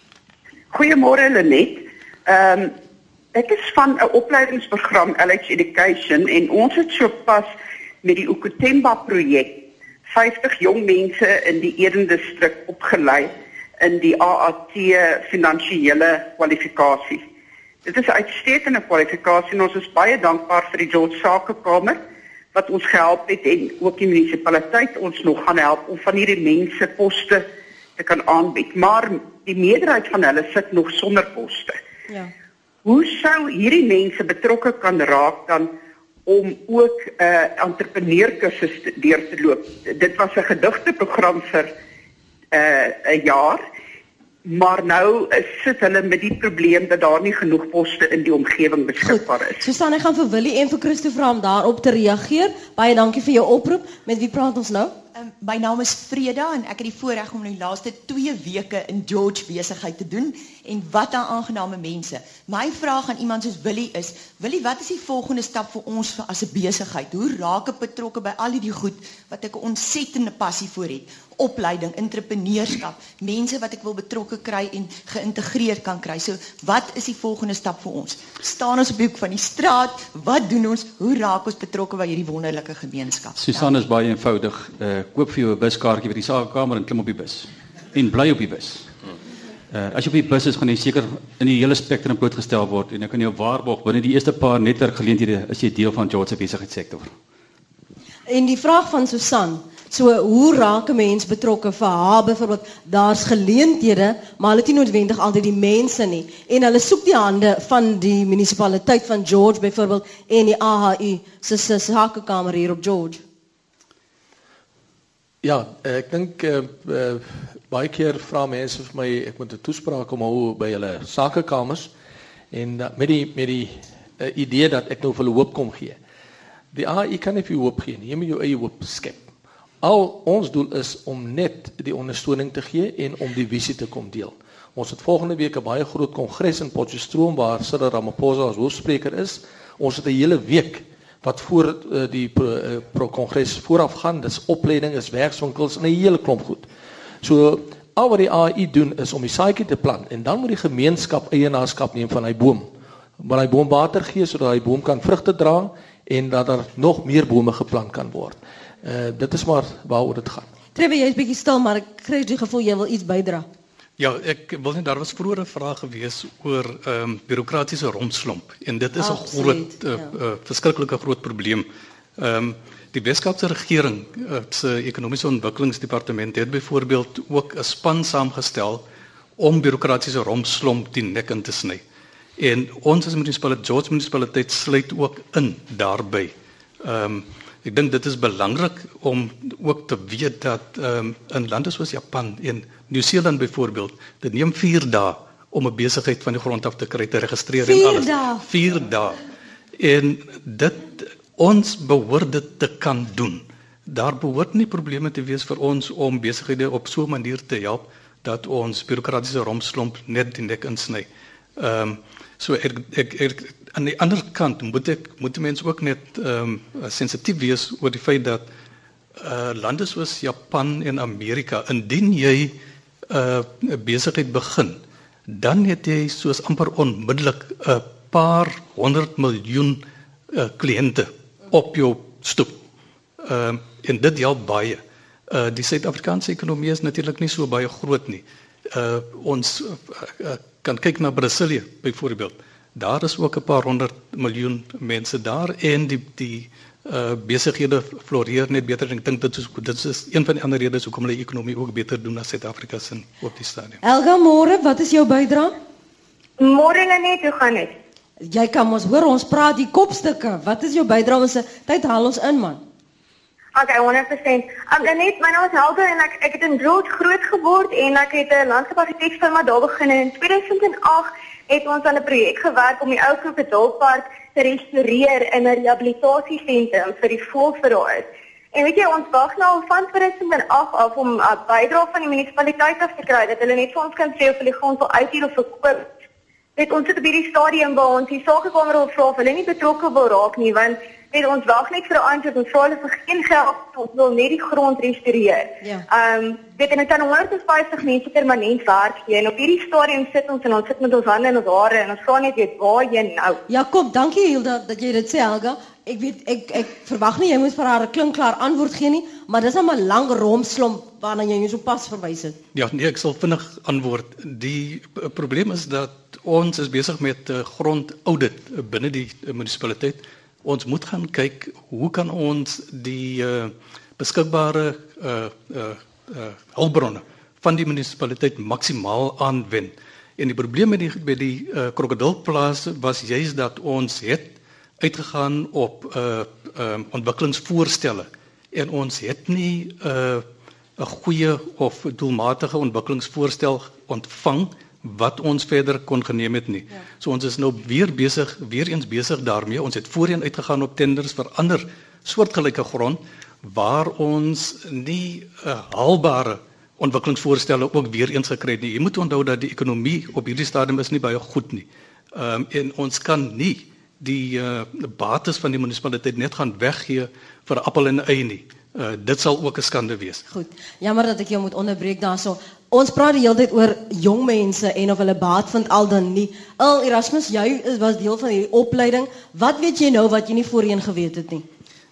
Goeiemôre Lenet. Ehm um, Ek is van 'n opleidingsprogram Alex Education, en ons het sopas met die Ukutemba projek vyftig jong mense in die Eden Distrik opgelei in die A A T finansiële kwalifikasie. Dit is 'n uitstekende kwalifikasie en ons is baie dankbaar vir die George Sakekamer wat ons gehelp het, en ook die munisipaliteit ons nog gaan help om van hierdie mense poste te kan aanbied. Maar die meerderheid van hulle sit nog sonder poste. Ja. Hoe sou hierdie mense betrokke kan raak dan om ook 'n uh, entrepreneurkursus deur te loop? Dit was 'n gedigteprogram vir 'n uh, jaar, maar nou uh, sit hulle met die probleem dat daar nie genoeg poste in die omgewing beskikbaar is. Susan, ek gaan vir Willie en vir Christo vra om daarop te reageer. Baie dankie vir jou oproep. Met wie praat ons nou? Um, my naam is Freda en ek het die voorreg om die laaste twee weke in George besigheid te doen, en wat 'n aangename mense. My vraag aan iemand soos Willie is, Willie, wat is die volgende stap vir ons as 'n besigheid? Hoe raak ek betrokke by al die goed wat ek 'n ontsettende passie vir het? Opleiding, entrepreneurskap, mense wat ek wil betrokke kry en geïntegreer kan kry. So, wat is die volgende stap vir ons? Staan ons op die hoek van die straat? Wat doen ons? Hoe raak ons betrokke by hierdie wonderlike gemeenskap? Susan, is baie eenvoudig. Uh, koop vir jou 'n buskaartjie by die Sakekamer en klim op die bus. En bly op die bus. Uh, as jy op die bus is, gaan jy seker in die hele spektrum blootgestel word en dan kan jy op waarborg binne die eerste paar netwerkgeleenthede is jy deel van George se besigheidssektor. En die vraag van Susan, so hoe raak 'n mens betrokke vir haar byvoorbeeld, daar's geleenthede, maar hulle het nie noodwendig altyd die mense nie en hulle soek die hande van die munisipaliteit van George byvoorbeeld en die A H U se se sakekamer hier op George. Ja, ek dink uh, uh, baie keer vra mense vir my ek moet 'n toespraak kom hou by hulle sakekamers en uh, met die met die uh, idee dat ek nou vir hulle hoop kom gee. Die A H U kan nie vir jou hoop gee nie, jy moet jou eie hoop skep. Al ons doel is om net die ondersteuning te gee en om die visie te kom deel. Ons het volgende week 'n baie groot kongres in Potchefstroom waar Cyril Ramaphosa as hoofspreker is. Ons het 'n hele week wat voor uh, die uh, pro-kongres vooraf gaan, dis opleiding, is werkswinkels en 'n hele klomp goed. So al wat die A H U doen is om die saadjie te plant en dan moet die gemeenskap eienaarskap neem van hy boom. Maar hy boom water gee sodat hy boom kan vrugte dra en dat daar nog meer bome geplant kan word. Uh, dit is maar waaroor dit gaan. Trevor, jy is bietjie stil, maar ek kry die gevoel jy wil iets bydra. Ja, ek wil net daar was vroeër 'n vraag gewees oor ehm um, bureaukratiese rompslomp en dit is 'n groot uh, uh, verskriklike groot probleem. Ehm um, die Weskaapse regering uh, se ekonomiese ontwikkelingsdepartement het byvoorbeeld ook 'n span saamgestel om bureaukratiese rompslomp die nek in te sny. En ons as munisipaliteit, George munisipaliteit sluit ook in daarbey. Ehm um, Ek dink dit is belangrik om ook te weet dat um, in lande soos Japan en Nieu-Seeland byvoorbeeld, dit neem vier dae om 'n besigheid van die grond af te kry, te registreer en alles. Dae. Vier dae. En dit ons behoort dit te kan doen. Daar behoort nie probleme te wees vir ons om besighede op so 'n manier te help dat ons bureaukratiese rompslomp net die nek insny. Ehm um, so ek ek, ek aan die ander kant moet ek moet mense ook net ehm um, sensitief wees oor die feit dat uh, lande soos Japan en Amerika, indien jy 'n uh, besigheid begin, dan het jy soos amper onmiddellik 'n paar honderd miljoen uh, kliënte op jou stoep. Ehm uh, en dit help baie. Uh, die Suid-Afrikaanse ekonomie is natuurlik nie so baie groot nie. Uh, ons uh, uh, kan kyk na Brasilië byvoorbeeld. Daar is ook 'n paar honderd miljoen mense daar en die die uh, besighede floreer net beter. Ek dink dit is dit is een van die ander redes hoekom hulle ekonomie ook beter doen as Suid-Afrika se op die stadium. Elga, môre, wat is jou bydrae? Môre net, hoe gaan dit? Jy kan ons hoor, ons praat die kopstukke. Wat is jou bydrae? Ons tyd haal ons in, man. Okay, honderd persent. Um, net, my naam is Helga en ek, ek het in George groot geword en ek het 'n landskapsargitekfirma daar begin en in twee tuisend agt het ons aan 'n projek gewerk om die ou Krokodilpark te restoreer in 'n rehabilitasiesentrum vir die voëls vir daar is. En weet jy, ons wag nou al van twee tuisend agt af om 'n uh, bydrae van die munisipaliteit af te kry dat hulle net vir ons kan sê of hulle die grond wil uithuur of verkoop. Weet ons sit op hierdie stadium waar ons die sakekamer wil vra of hulle nie betrokke wil raak nie, want weet ons wag net vir 'n antwoord, ons vra hulle vir geen geld, ons wil net die grond restoreer. Ja. Ehm um, weet en dit kan honderd vyftig mense permanent werk gee en op hierdie stadium sit ons en ons sit met ons hande in ons hare en ons vra net weet waarheen nou. Ja, kom, dankie Hilda dat jy dit sê, Helga. Ek weet ek ek verwag nie jy moet vir haar 'n klinkklaar antwoord gee nie, maar dis 'n lang rompslomp waarna jy jou so pas verwys het. Ja, nee, ek sal vinnig antwoord. Die uh, probleem is dat ons is besig met 'n uh, grondaudit uh, binne die uh, munisipaliteit. Ons moet gaan kyk hoe kan ons die uh, beskikbare uh, uh, uh, hulpbronne van die munisipaliteit maksimaal aanwend. En die probleem met die by die uh, krokodilplaas was juist dat ons het uitgegaan op uh, uh, ontwikkelingsvoorstelle en ons het nie 'n uh, 'n goeie of doelmatige ontwikkelingsvoorstel ontvang wat ons verder kon geneem het nie. Ja. So ons is nou weer besig, weer eens besig daarmee. Ons het voorheen uitgegaan op tenders vir ander soortgelyke grond waar ons nie 'n uh, haalbare ontwikkelingsvoorstelle ook weer eens gekry het nie. Jy moet onthou dat die ekonomie op hierdie stadium is nie baie goed nie. Ehm um, en ons kan nie die uh, bates van die munisipaliteit net gaan weggee vir 'n appel en 'n ei nie. Uh, dit sal ook 'n skande wees. Goed. Jammer dat ek jou moet onderbreek daarso. Ons praat die hele tyd oor jong mense en of hulle baat vind al dan nie. El Erasmus, jy was deel van hierdie opleiding. Wat weet jy nou wat jy nie voorheen geweet het nie?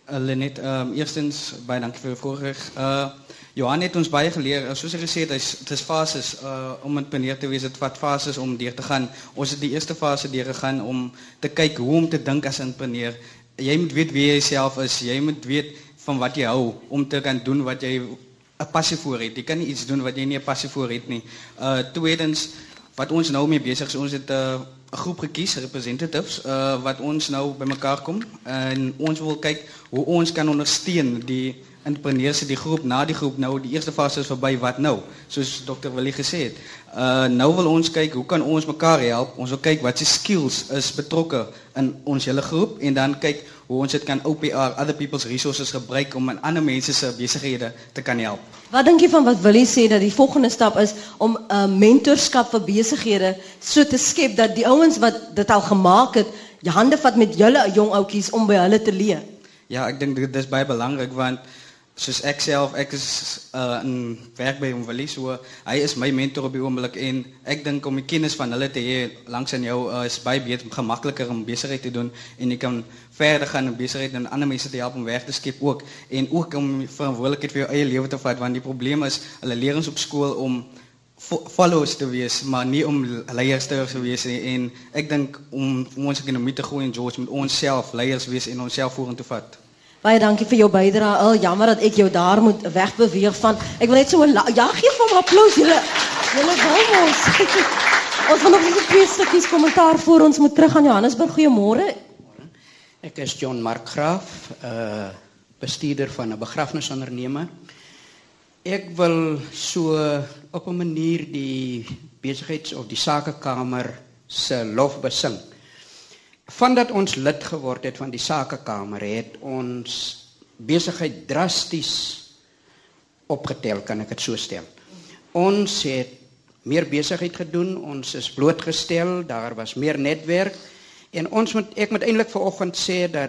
Uh, Lenet, um, eerstens baie dankie vir die voorreg. Uh, Johan het ons baie geleer, uh, soos hy gesê het, het is fases, uh, om entrepreneur te wees, het vat fases om deur te gaan. Ons het die eerste fase deur gegaan om te kyk hoe om te dink as entrepreneur. Jy moet weet wie jy self is, jy moet weet van wat jy hou, om te kan doen wat jy 'n passie voor het. Jy kan nie iets doen wat jy nie 'n passie voor het nie. Uh, tweedens, wat ons nou mee besig is, ons het 'n uh, groep gekies, representatives, uh, wat ons nou bymekaar kom, en ons wil kyk hoe ons kan ondersteun die entrepreneurs, die groep, na die groep, nou die eerste fase is verby, wat nou, soos dokter Willie gesê het. Uh, nou wil ons kyk, hoe kan ons mekaar help, ons wil kyk wat se skills is betrokke in ons hele groep, en dan kyk hoe ons dit kan O P R, other people's resources, gebruik om in ander mense se besighede te kan help. Wat dink jy van wat Willie sê, dat die volgende stap is om 'n uh, mentorskap vir besighede so te skep, dat die ouens wat dit al gemaak het, jy hande vat met julle jong ouetjies om by hulle te leer? Ja, ek dink dit is baie belangrik, want soos ek self, ek is uh, in werk by hom Willie, so hy is my mentor op die oomblik, en ek dink om die kennis van hulle te hê langs aan jou uh, is baie beter, gemakliker om besigheid te doen, en jy kan verder gaan in besigheid en ander mense te help om werk te skep ook, en ook om verantwoordelikheid vir jou eie lewe te vat, want die probleem is, hulle leer ons op skool om followers te wees, maar nie om leiers te wees nie, en ek dink om, om ons ekonomie te groei in George, moet ons self leiers wees en ons self vorentoe vat. Baie dankie vir jou bydrae. Al jammer dat ek jou daar moet wegbeweeg van. Ek wil net so ja, gee vir 'n applous. Julle julle wil ons. Ons gaan nog net twee stukkies kommentaar voor ons moet terug aan Johannesburg. Goeiemôre. Ek is John Mark Graaf, uh, bestuurder van 'n begrafnisonderneming. Ek wil so op 'n manier die besigheids- of die sakekamer se lof besing. Vandat ons lid geword het van die sakekamer, het ons besigheid drasties opgetel, kan ek dit so stel. Ons het meer besigheid gedoen, ons is blootgestel, daar was meer netwerk, en ons moet, ek moet eintlik vanoggend sê dat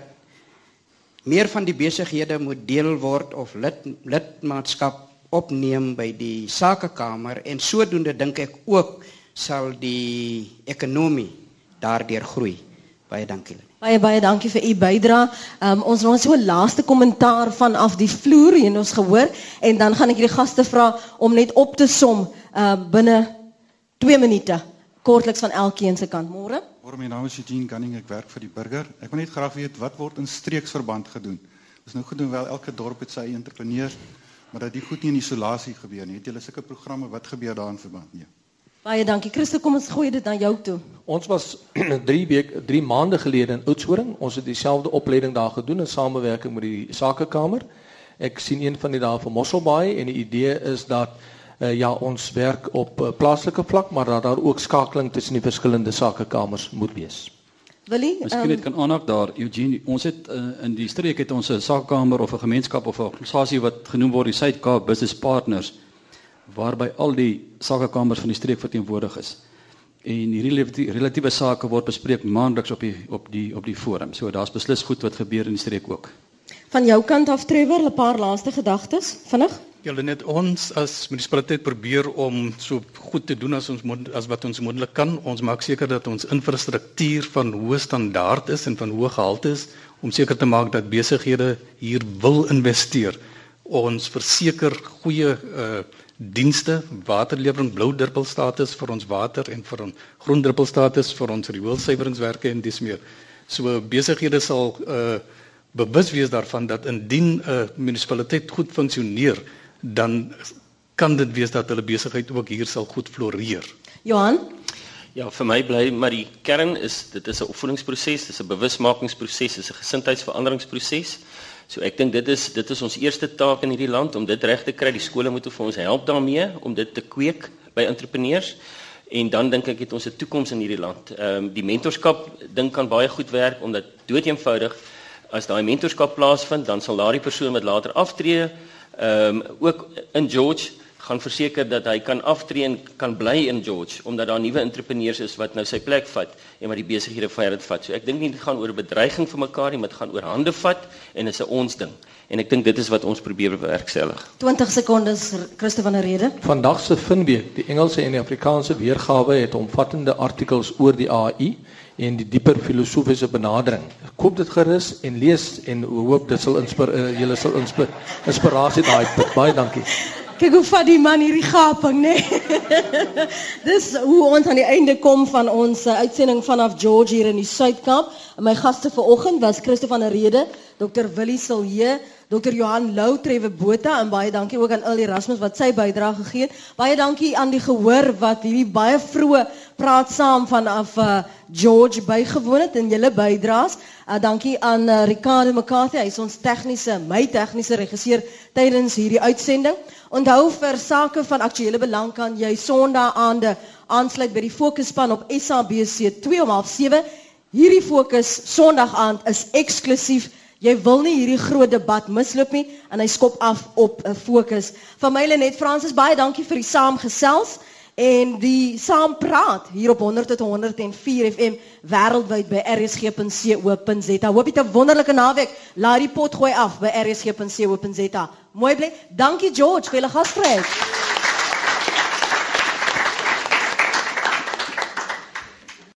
meer van die besighede moet deel word of lid, lidmaatskap opneem by die sakekamer, en sodoende dink ek ook sal die ekonomie daardeur groei. Baie dankie. Baie baie dankie vir u bydrae. Um, ons het so 'n laaste kommentaar vanaf die vloer hier ons gehoor, en dan gaan ek die gaste vra om net op te som uh, binne twee minute, kortliks van elkeen se kant. Môre. Môre, my naam is Eugene Gunning, ek werk vir die burger. Ek wil net graag weet, wat word in streeksverband gedoen? Dis nou gedoen wel, elke dorp het sy eie entrepreneurs, maar dat die goed nie in isolasie gebeur nie. Het julle sulke programme, wat gebeur daar in verband mee? Baie dankie. Christo, kom ons gooi dit na jou toe. Ons was drie week, drie maande gelede in Oudtshoorn. Ons het dieselfde opleiding daar gedoen in samewerking met die Sakekamer. Ek sien een van die daar van Mosselbaai, en die idee is dat uh, ja, ons werk op uh, plaaslike vlak, maar dat daar ook skakeling tussen die verskillende Sakekamers moet wees. Willie, Miskien net kan aanhaak daar, Eugene, ons het uh, in die streek het ons 'n sakekamer of 'n gemeenskap of 'n organisasie wat genoem word die Suid-Kaap Business Partners, waarby al die sakekamers van die streek verteenwoordig is. En hierdie relatiewe sake word bespreek maandeliks op die op die op die forum. So daar's beslis goed wat gebeur in die streek ook. Van jou kant af, Trevor, 'n paar laaste gedagtes, vinnig. Julle net ons as munisipaliteit probeer om so goed te doen as ons as wat ons moontlik kan. Ons maak seker dat ons infrastruktuur van hoë standaard is en van hoë gehalte is, om seker te maak dat besighede hier wil investeer. Ons verseker goeie uh, dienste, waterlewering, blou druppelstatus vir ons water en vir ons groen druppelstatus vir ons rioolsuiweringswerke en dis meer. So besighede sal uh, bewus wees daarvan dat indien 'n uh, munisipaliteit goed funksioneer, dan kan dit wees dat hulle besigheid ook hier sal goed floreer. Johan? Ja, vir my bly maar die kern is dit is 'n opvoedingsproses, dit is 'n bewusmakingsproses, dit is 'n gesindheidsveranderingsproses. So ek dink dit is dit is ons eerste taak in hierdie land om dit reg te kry. Die skole moet vir ons help daarmee om dit te kweek by entrepreneurs. En dan dink ek het ons 'n toekoms in hierdie land. Ehm um, die mentorskap ding kan baie goed werk omdat doeteenvoudig as daai mentorskap plaasvind, dan sal daardie persoon wat later aftree, ehm um, ook in George gaan verseker dat hy kan aftree en kan bly in George, omdat daar nuwe entrepreneurs is wat nou sy plek vat en wat die besighede verder vat. So ek dink nie dit gaan oor 'n bedreiging vir mekaar nie, maar dit gaan oor hande vat en dit is 'n ons ding. En ek dink dit is wat ons probeer bewerkstellig. twintig sekondes, Christo van der Rede. Vandag se Finweek, die Engelse en die Afrikaanse weergawe het omvattende artikels oor die A I en die dieper filosofiese benadering. Koop dit gerus en lees en hoop dit sal inspir, uh, julle sal inspir, inspirasie daai put. Baie dankie. Kyk hoe vat die man hierdie gaping, né? Nee? Dis hoe ons aan die einde kom van ons uh, uitsending vanaf George hier in die Suidkamp. My gaste vanoggend was Christo van der Rede, dokter Willie Silje, dokter Johan Lou Trevor Botha en baie dankie ook aan Earl Erasmus wat sy bydrae gegee het. Baie dankie aan die gehoor wat hierdie baie vroeë praat saam vanaf uh, George bygewoon het en julle bydraes. Uh, dankie aan uh, Ricardo McCarthy, hy is ons tegniese, my tegniese regisseur tydens hierdie uitsending. Onthou vir sake van aktuele belang kan jy Sondae-aande aansluit by die fokusspan op S A B C twee om half sewe. Hierdie fokus Sondag-aand is eksklusief. Jy wil nie hierdie groot debat misloop nie en hy skop af op 'n fokus. Van my Lenet Fransis, baie dankie vir die saamgesels en die saampraat hier op honderd tot honderd en vier F M wêreldwyd by r s g punt co punt z a. Hoop jy 'n wonderlike naweek. Laat die pot gooi af by r s g punt co punt z a. Mooi bly. Dankie George vir julle gasvryheid.